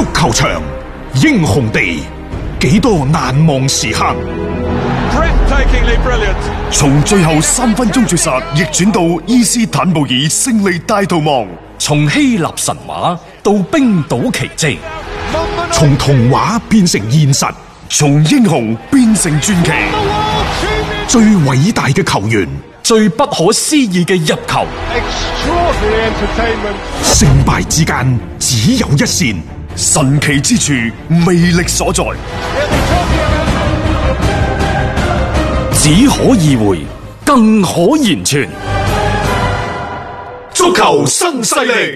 足球場，英雄地，幾多難忘時刻。 從最後3分鐘絕殺逆轉到伊斯坦布爾勝利大逃亡， 從希臘神話到冰島奇蹟， 從童話變成現實， 從英雄變成傳奇。 最偉大嘅球員， 最不可思議嘅入球， 勝敗之間只有一線， 神奇之處魅力所在， 只可意會，更可言傳。 足球新勢力。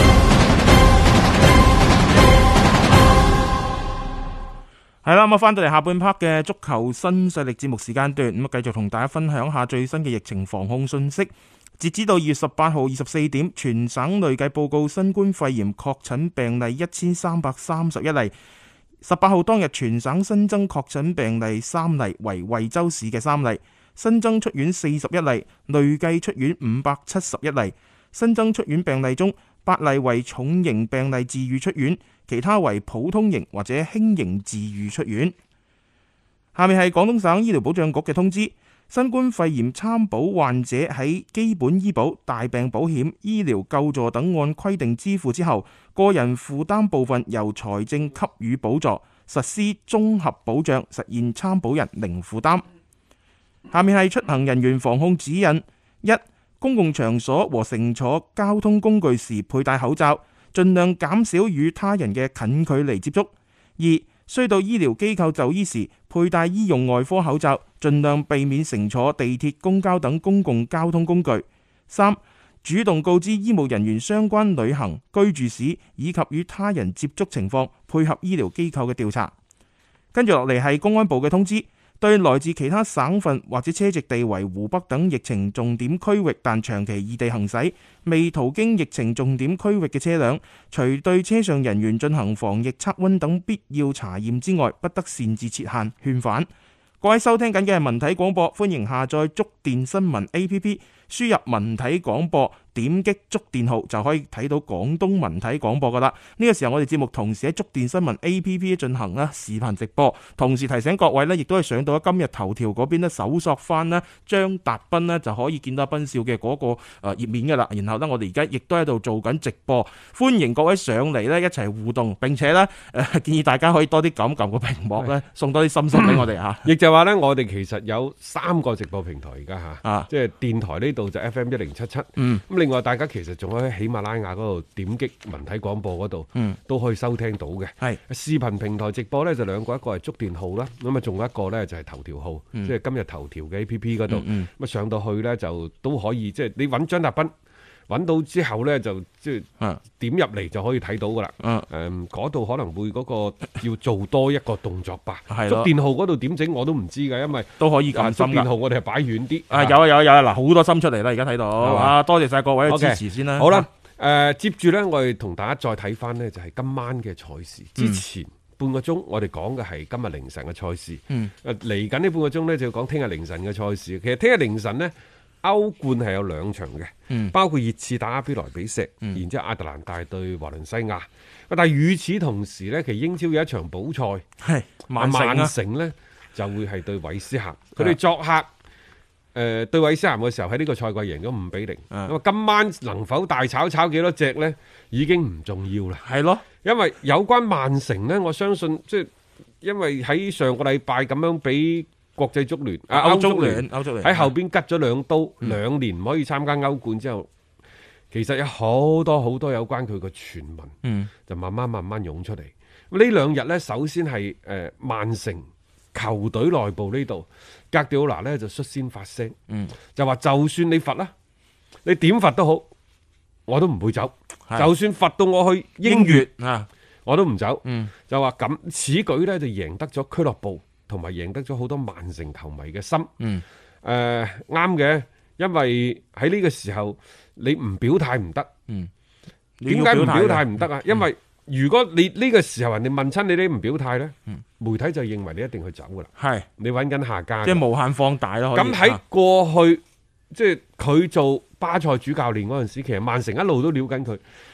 係啦，咁翻到嚟下半 part 嘅足球新勢力節目時間段，咁繼續同大家分享下最新嘅疫情防控信息。截止到2月18號24點，全省累計報告新冠肺炎確診病例1331例。18號當日全省新增確診病例3例，為惠州市嘅3例，新增出院41例，累計出院571例。新增出院病例中，8例為重型病例治愈出院，其他為普通型或者輕型治愈出院。下面係廣東省醫療保障局嘅通知，新冠肺炎參保患者喺基本醫保、大病保險、醫療救助等按規定支付之後，個人負擔部分由財政給予補助，實施綜合保障，實現參保人零負擔。下面係出行人員防控指引：一、公共場所和乘坐交通工具時佩戴口罩，盡量減少與他人嘅近距離接觸。二、需到醫療機構就醫時佩戴醫用外科口罩，盡量避免乘坐地鐵、公交等公共交通工具。三、主動告知醫務人員相關旅行、居住史以及與他人接觸情況，配合醫療機構嘅調查。跟住落嚟係公安部嘅通知。對來自其他省份或者車籍地為湖北等疫情重點區域但長期異地行駛、未途經疫情重點區域嘅車輛，除對車上人員進行防疫測溫等必要查驗之外，不得擅自設限勸返。各位收聽緊嘅係文體廣播，歡迎下載觸電新聞 APP， 輸入文體廣播，點擊觸電號就可以睇到廣東文體廣播噶啦。呢個時候我哋節目同時喺觸電新聞 APP 進行視頻直播，同時提醒各位亦都係上到今日頭條嗰邊搜索翻張達斌就可以見到斌少嘅嗰個頁面噶啦。然後我哋而家亦都喺度做緊直播，歡迎各位上嚟一齊互動，並且建議大家可以多啲撳個屏幕送多啲心心俾我哋嚇。 亦就話我哋其實有3個直播平台而家嚇，即係電台呢度就 FM1077，咁另外大家其實仲可以喺喜馬拉雅嗰度點擊文體廣播嗰度，都可以收聽到嘅。係視頻平台直播呢，就2個，一個係觸電號啦，咁啊仲有一個呢就係頭條號，即係今日頭條嘅 APP 嗰度，咁上到去呢，就都可以，即係你揾張達斌。揾到之後呢，就即係點入嚟就可以睇到噶啦。嗰度可能會嗰個要做多一個動作吧。觸電號嗰度點整我都唔知㗎，因為都可以撳心㗎。 觸電號我哋係擺遠啲。 有嗱，好多心出嚟啦，而家睇到。多謝晒各位嘅支持先啦。 好啦，接住呢，我哋同大家再睇翻呢，就係今晚嘅賽事。之前半個鐘我哋講嘅係今日凌晨嘅賽事。嚟緊呢半個鐘呢，就要講聽日凌晨嘅賽事。其實聽日凌晨呢，歐冠係有2場嘅，包括熱刺打阿比萊比錫，然之後亞特蘭大對華倫西亞。但係與此同時呢，其實英超有一場補賽，係曼城呢就會係對韋斯咸。佢哋作客對韋斯咸嘅時候喺呢個賽季贏咗5-0。咁啊，今晚能否大炒幾多隻呢？已經唔重要啦。係咯，因為有關曼城呢，我相信即係因為喺上個禮拜咁樣俾國際足聯、歐足聯喺後邊吉咗2刀，2年唔可以參加歐冠之後，其實有好多有關佢個傳聞，就慢慢湧出嚟。咁呢2日呢，首先係曼城球隊內部呢度，哥迪奧拿呢就率先發聲，就話就算你罰啦，你點罰都好，我都唔會走，就算罰到我去英乙我都唔走。就話咁此舉呢，就贏得咗俱樂部，同埋贏得咗好多曼城球迷嘅心。啱嘅，因為喺呢個時候你唔表態唔得。點解唔表態唔得啊？因為如果你呢個時候人哋問親你唔表態呢，媒體就認為你一定去走噶啦。係你揾緊下家，即係無限放大咯。咁喺過去即係佢做巴塞主教練嗰陣時，其實曼城一路都撩緊佢。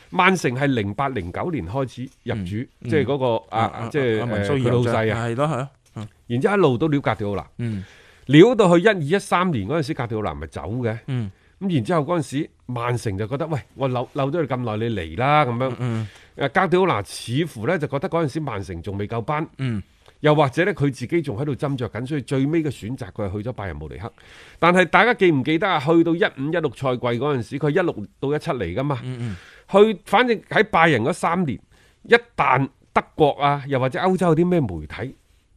曼城係08-09年開始入主，即係嗰個即係佢老細啊， 係咯係咯， 然之後一路都撩格迪奧拿， 嗯， 撩到去12-13年嗰陣時，格迪奧拿咪走嘅， 嗯， 咁然之後嗰陣時，曼城就覺得喂，我留咗你咁耐，你嚟啦咁樣，格迪奧拿似乎咧就覺得嗰陣時曼城仲未夠班，又或者咧佢自己仲喺度斟酌緊，所以最尾嘅選擇佢係去咗拜仁慕尼黑。但係大家記唔記得啊？去到15-16賽季嗰陣時，佢16-17嚟噶嘛，去反正喺拜仁嗰3年，一旦德國啊，又或者歐洲有啲咩媒體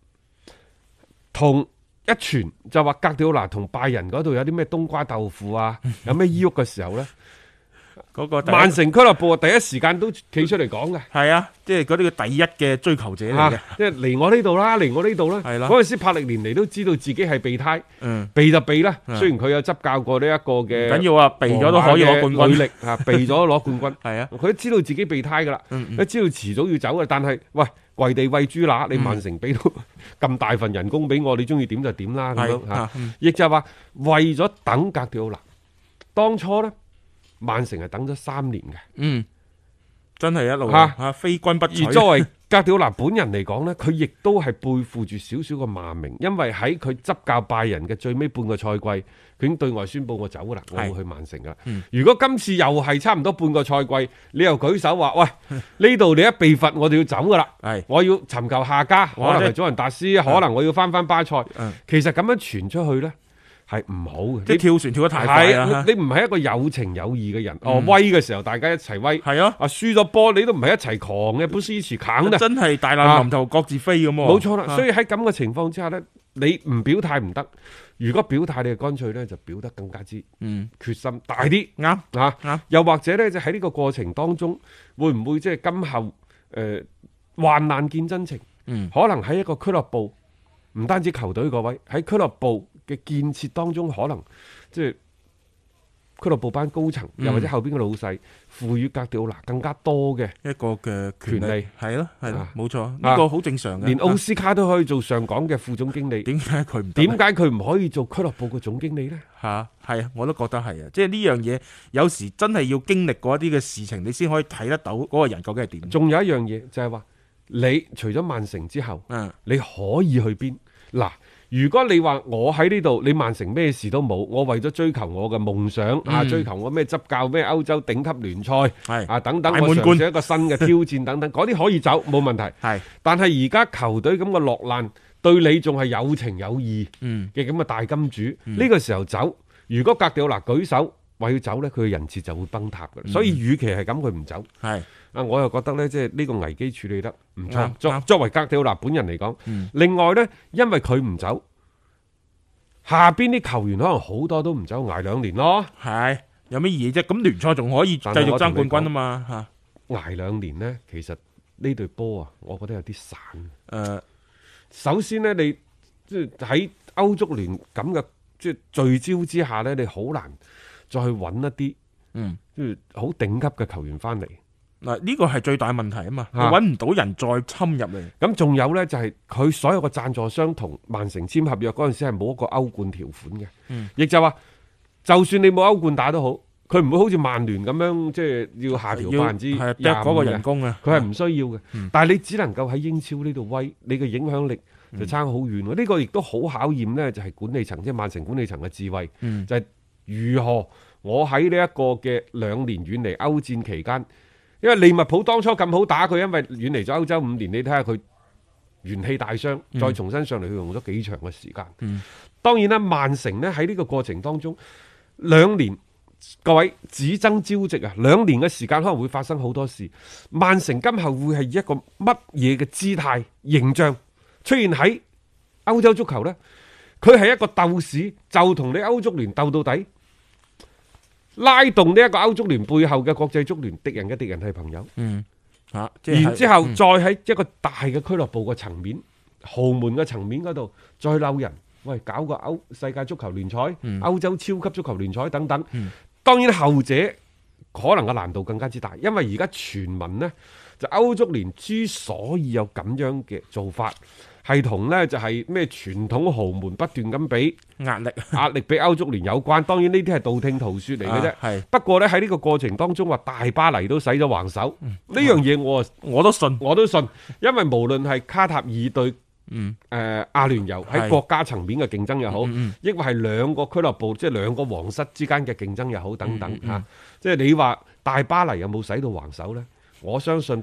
同一傳就話格迪奧拿同拜仁嗰度有啲咩冬瓜豆腐啊，有咩依郁嘅時候咧， 嗰個曼城俱樂部第一時間都企出嚟講嘅， 係啊，即係嗰啲嘅第一嘅追求者嚟嘅， 即係嚟我呢度啦，嚟我呢度啦。 係啦， 嗰陣時帕力連尼都知道自己係備胎，避就避啦。雖然佢有執教過呢一個嘅， 緊要啊，避咗都可以攞冠軍， 力啊，避咗攞冠軍。 係啊， 佢都知道自己備胎噶啦，都知道遲早要走嘅。但係喂，跪地餵豬乸，你曼城俾到咁大份人工俾我，你中意點就點啦咁樣嚇。亦就係話為咗等格迪奧拿，當初咧。曼城係等咗3年嘅， 真係一路嚇非君不娶。 而作為格迪奧拿本人嚟講呢，佢亦都係背負住少少嘅罵名，因為喺佢執教拜仁嘅最尾半個賽季，佢已經對外宣布我走噶啦，我會去曼城噶啦。如果今次又係差唔多半個賽季，你又舉手話喂，呢度你一被罰，我哋要走噶啦，我要尋求下家，可能係祖雲達斯，可能我要翻巴塞。其實咁樣傳出去呢。係唔好嘅， 即係跳船跳得太快啦！ 你唔係一個有情有義嘅人，威嘅時候大家一齊威， 係啊， 輸咗波你都唔係一齊狂嘅，本斯持砍真係大難臨頭各自飛咁喎。 冇錯啦，所以喺咁嘅情況之下呢，你唔表態唔得，如果表態你就乾脆呢就表得更加之決心大啲，啱又或者呢，就喺呢個過程當中，會唔會即係今後患難見真情？可能喺一個俱樂部，唔單止球隊嗰位喺俱樂部嘅建設當中，可能即係俱樂部班高層，又或者後邊嘅老細，賦予格迪奧拿更加多嘅一個嘅權利，係咯，係咯，冇錯，呢個好正常嘅。 連奧斯卡都可以做上港嘅副總經理，點解佢唔可以做俱樂部嘅總經理呢？ 係啊，我都覺得係啊，即係呢樣嘢有時真係要經歷過一啲嘅事情，你先可以睇得到嗰個人究竟係點。 仲有一樣嘢就係話，你除咗曼城之後，你可以去邊？嗱，如果你話我喺呢度，你曼城咩事都冇，我為咗追求我嘅夢想追求我咩執教咩歐洲頂級聯賽等等，我嘗試一個新嘅挑戰等等，嗰啲可以走冇問題。但係而家球隊咁嘅落難，對你仲係有情有義嘅咁嘅大金主，呢個時候走，如果格迪奧拿舉手話要走呢，佢嘅人設就會崩塌嘅。所以與其係咁，佢唔走。我又覺得呢，即係呢個危機處理得唔錯。作為格迪奧拿本人嚟講，另外呢，因為佢唔走，下邊啲球員可能好多都唔走，捱2年咯。 有咩意義啫？咁聯賽仲可以繼續爭冠軍啊嘛。 捱2年呢，其實呢隊波啊，我覺得有啲散。首先呢，你即係喺歐足聯咁嘅即係聚焦之下呢，你好難再去揾一啲即係好頂級嘅球員翻嚟。 嗱，呢個係最大問題啊嘛，你揾唔到人再侵入嚟。 咁仲有呢，就係佢所有嘅贊助商同曼城簽合約嗰陣時係冇一個歐冠條款嘅，亦就話就算你冇歐冠打都好，佢唔會好似曼聯咁樣即係要下調25% 嗰個人工啊， 佢係唔需要嘅。但係你只能夠喺英超呢度威，你嘅影響力就差好遠。呢個亦都好考驗呢，就係管理層即係曼城管理層嘅智慧，就係如何我喺呢一個嘅2年遠離歐戰期間。因為利物浦當初咁好打佢，因為遠離咗歐洲5年，你睇下佢元氣大傷，再重新上嚟，佢用咗幾長嘅時間。當然啦，曼城呢喺呢個過程當中2年，各位只爭朝夕啊！2年嘅時間可能會發生好多事。曼城今後會係一個乜嘢嘅姿態形象出現喺歐洲足球呢？佢係一個鬥士，就同你歐足聯鬥到底。拉動呢一個歐足聯背後嘅國際足聯，敵人嘅敵人係朋友。然之後再喺一個大嘅俱樂部嘅層面、豪門嘅層面嗰度再撈人，喂，搞個世界足球聯賽、歐洲超級足球聯賽等等。當然後者可能嘅難度更加之大，因為而家傳聞呢，就歐足聯之所以有咁樣嘅做法， 係同呢就係咩傳統豪門不斷咁俾壓力俾歐足聯有關。當然呢啲係道聽途說嚟嘅啫。 係不過呢，喺呢個過程當中話大巴黎都使咗橫手，呢樣嘢我都信。 因為無論係卡塔爾對阿聯酋喺國家層面嘅競爭又好，抑或係兩個俱樂部即係兩個皇室之間嘅競爭又好等等嚇。即係你話大巴黎有冇使到橫手呢？我相信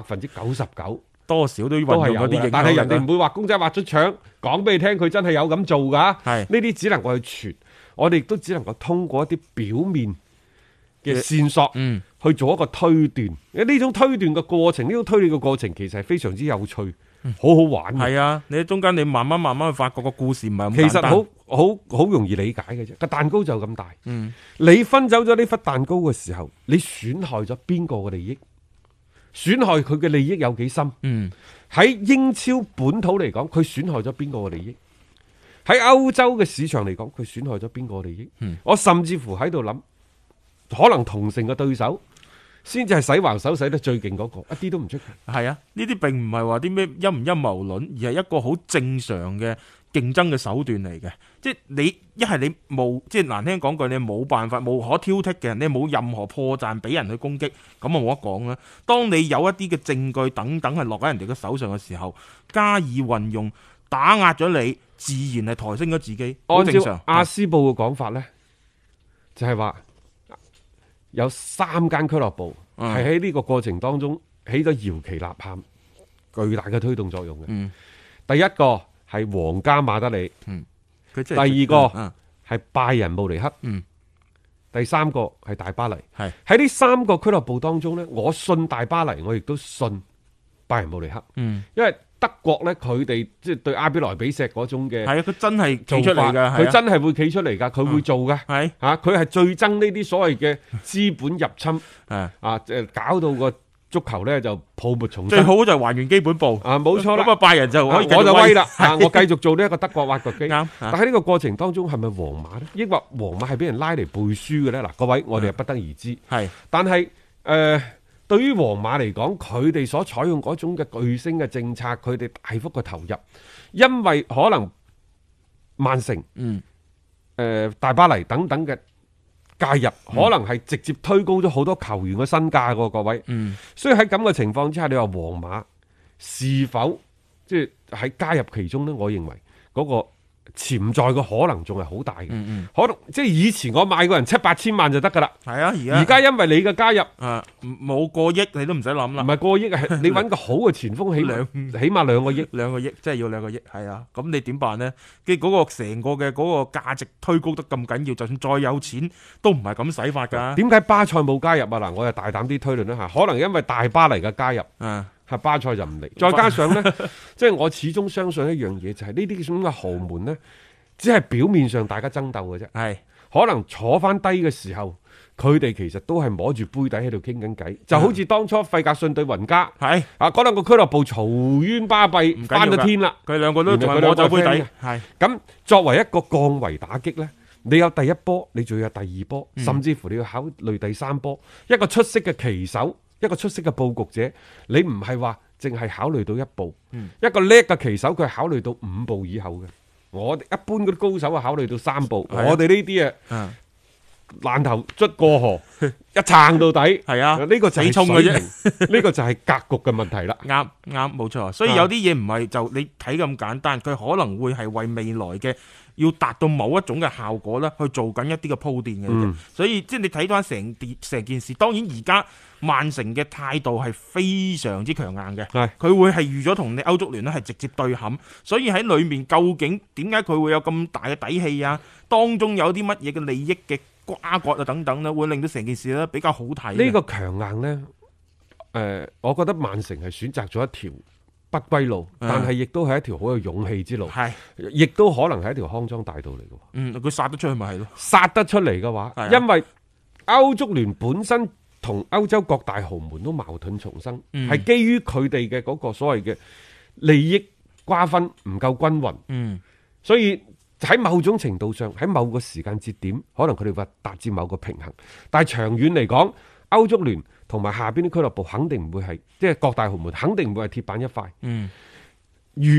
99% 多少都係有嘅，但係人哋唔會話公仔畫出腸講俾你聽，佢真係有咁做㗎。呢啲只能夠去傳，我哋亦都只能夠通過一啲表面嘅線索去做一個推斷。呢種推斷嘅過程，呢種推理嘅過程其實係非常之有趣，好好玩。 係啊，你喺中間你慢慢去發覺個故事唔係咁簡單。 其實好容易理解嘅啫，個蛋糕就咁大。你分走咗呢忽蛋糕嘅時候，你損害咗邊個嘅利益？損害佢嘅利益有幾深？喺英超本土嚟講，佢損害咗邊個嘅利益？喺歐洲嘅市場嚟講，佢損害咗邊個嘅利益？我甚至乎喺度諗，可能同城嘅對手先至係使橫手使得最勁嗰個，一啲都唔出奇。 係啊，呢啲並唔係話啲咩陰唔陰謀論，而係一個好正常嘅競爭嘅手段嚟嘅。即係你一係你冇，即係難聽講句，你冇辦法無可挑剔嘅，你冇任何破綻俾人去攻擊，咁啊冇得講啦。當你有一啲嘅證據等等係落喺人哋嘅手上嘅時候，加以運用打壓咗你，自然係抬升咗自己。 按照阿斯報嘅講法呢，就係話有3間俱樂部係喺呢個過程當中起咗搖旗吶喊巨大嘅推動作用嘅。第一個係皇家馬德里，第二個係拜仁慕尼黑，第三個係大巴黎。喺呢3個俱樂部當中呢，我信大巴黎，我亦都信拜仁慕尼黑。因為德國呢，佢哋即係對阿比萊比錫嗰種嘅，係啊，佢真係企出嚟噶，佢真係會企出嚟噶，佢會做噶，係吓，佢係最憎呢啲所謂嘅資本入侵，搞到個足球咧就泡沫重生。最好就係還原基本步啊，冇錯啦。咁啊，拜仁就可以我就威啦，我繼續做呢一個德國挖掘機。啱，但喺呢個過程當中係咪皇馬咧？抑或皇馬係俾人拉嚟背書嘅咧？嗱，各位我哋係不得而知。係，但係對於皇馬嚟講，佢哋所採用嗰種嘅巨星嘅政策，佢哋大幅嘅投入，因為可能曼城、大巴黎等等嘅介入，可能係直接推高咗好多球員嘅身價嘅，各位。所以喺咁嘅情況之下，你話皇馬是否即係喺加入其中呢？我認為嗰個潛在嘅可能仲係好大嘅，可能即係以前我買個人7-8千萬就得噶啦，係啊，而家因為你嘅加入冇過億，你都唔使諗啦，唔係過億啊，係你揾個好嘅前鋒起碼2個億，2個億，即係要2個億，係啊，咁你點辦呢？跟住嗰個成個嘅嗰個價值推高得咁緊要，就算再有錢都唔係咁使法噶。點解巴塞冇加入啊？嗱，我又大膽啲推論一下，可能因為大巴黎嘅加入係巴塞就唔嚟，再加上呢，即係我始終相信一樣嘢，就係呢啲咁嘅豪門呢，只係表面上大家爭鬥嘅啫。係可能坐翻低嘅時候，佢哋其實都係摸住杯底喺度傾緊偈，就好似當初費格遜對雲加，係啊，嗰兩個俱樂部嘈冤巴閉翻咗天啦，佢兩個都仲係摸走杯底。係咁，作為一個降維打擊呢，你有第一波，你仲要有第二波，甚至乎你要考慮第3波，一個出色嘅棋手。一個出色嘅佈局者，你唔係話淨係考慮到1步，一個叻嘅棋手佢係考慮到5步以後嘅。我哋一般嗰啲高手啊，考慮到3步。我哋呢啲爛頭捽過河，一撐到底。係啊，呢個就係衝嘅啫，呢個就係格局嘅問題啦。啱，冇錯。所以有啲嘢唔係就你睇咁簡單，佢可能會係為未來嘅要達到某一種嘅效果咧，去做緊一啲嘅鋪墊嘅。所以即係你睇翻成件事，當然而家曼城嘅態度係非常之強硬嘅，佢會係預咗同你歐足聯咧係直接對撼，所以喺裏面究竟點解佢會有咁大嘅底氣啊？當中有啲乜嘢嘅利益嘅瓜葛啊等等咧，會令到成件事咧比較好睇。呢個強硬呢，我覺得曼城係選擇咗一條不歸路，但係亦都係一條好有勇氣之路，亦都可能係一條康莊大道嚟嘅。佢殺得出去咪係咯？殺得出嚟嘅話，因為歐足聯本身同歐洲各大豪門都矛盾重生，係基於佢哋嘅嗰個所謂嘅利益瓜分唔夠均勻，所以喺某種程度上，喺某個時間節點，可能佢哋會達至某個平衡，但係長遠嚟講，歐足聯同埋下邊啲俱樂部肯定唔會係，即係各大豪門肯定唔會係鐵板一塊。如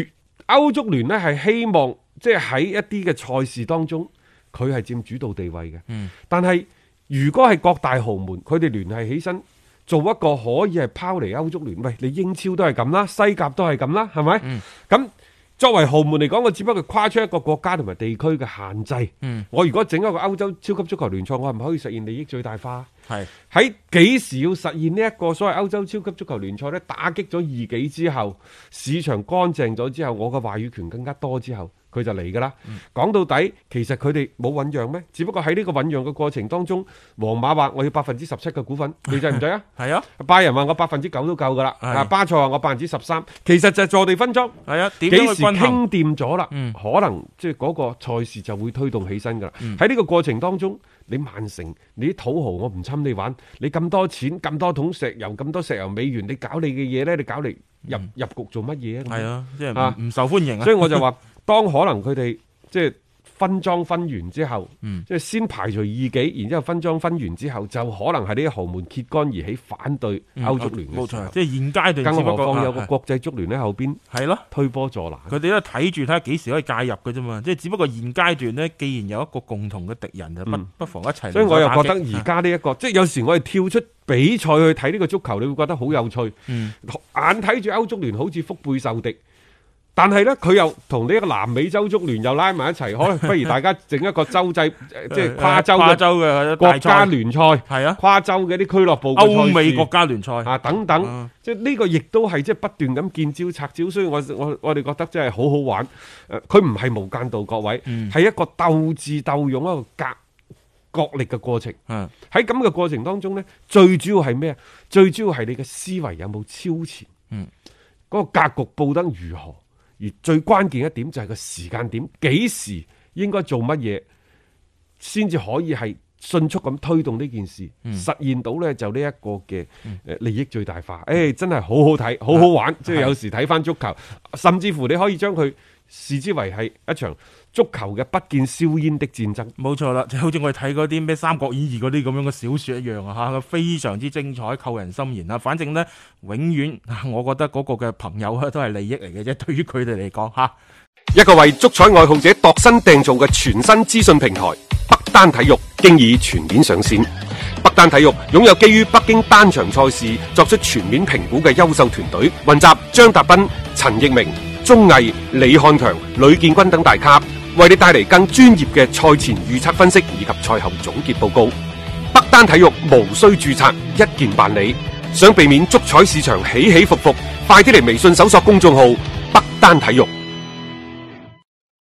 歐足聯呢係希望即係喺一啲嘅賽事當中，佢係佔主導地位嘅。但係如果係各大豪門，佢哋聯繫起身，做一個可以係拋離歐足聯，喂，你英超都係咁啦，西甲都係咁啦，係咪？咁作為豪門嚟講，我只不過跨出一個國家同埋地區嘅限制。我如果整一個歐洲超級足球聯賽，我係咪可以實現利益最大化？係喺幾時要實現呢一個所謂歐洲超級足球聯賽呢？打擊咗異己之後，市場乾淨咗之後，我嘅話語權更加多之後，佢就嚟噶啦。講到底，其實佢哋冇醞釀咩？只不過喺呢個醞釀嘅過程當中，皇馬話我要17%嘅股份，你制唔制啊？係啊。拜仁話我9%都夠噶啦。巴塞話我13%，其實就係坐地分贓。係啊。幾時傾掂咗啦？可能即係嗰個賽事就會推動起身噶啦。喺呢個過程當中，你曼城，你啲土豪我唔侵你玩，你咁多錢，咁多桶石油，咁多石油美元，你搞你嘅嘢咧，你搞嚟入局做乜嘢啊？係啊，即係唔受歡迎啊。所以我就話，當可能佢哋即係分贓分完之後，即係先排除異己，然之後分贓分完之後，就可能係呢啲豪門揭竿而起反對歐足聯嘅。冇錯，即係現階段，更何況有個國際足聯喺後邊，係咯，推波助瀾。佢哋都睇住睇下幾時可以介入嘅啫嘛。即係只不過現階段呢，既然有一個共同嘅敵人，就不妨一齊。所以我又覺得而家呢一個，即係有時我哋跳出比賽去睇呢個足球，你會覺得好有趣。眼睇住歐足聯好似腹背受敵。但係咧，佢又同呢一個南美洲足聯又拉埋一齊，可能不如大家整一個洲際，即係跨洲嘅國家聯賽，係啊，跨洲嘅啲俱樂部歐美國家聯賽啊等等，即係呢個亦都係即係不斷咁見招拆招，所以我哋覺得真係好好玩。佢唔係無間道，各位，係一個鬥智鬥勇一個角力嘅過程。喺咁嘅過程當中咧，最主要係咩啊？最主要係你嘅思維有冇超前？嗰個格局布得如何？而最關鍵一點就係個時間點，幾時應該做乜嘢，先至可以係迅速咁推動呢件事，實現到呢就呢一個嘅利益最大化。真係好好睇，好好玩。即係有時睇翻足球，甚至乎你可以將佢視之為係一場足球嘅不見硝煙的戰爭。冇錯啦，就好似我哋睇嗰啲咩《三國演義》嗰啲咁樣嘅小說一樣啊，吓，非常之精彩，扣人心弦啊！反正呢，永遠我覺得嗰個嘅朋友都係利益嚟嘅啫，對於佢哋嚟講吓。一個為足彩愛好者度身訂造嘅全新資訊平台北單體育，經已全面上線。北單體育擁有基於北京單場賽事作出全面評估嘅優秀團隊，雲集張達斌、陳奕明、鐘毅、李漢強、呂建軍等大咖，為你帶嚟更專業嘅賽前預測分析以及賽後總結報告。北單體育無需註冊，一鍵辦理。想避免足彩市場起起伏伏，快啲嚟微信搜索公眾號北單體育。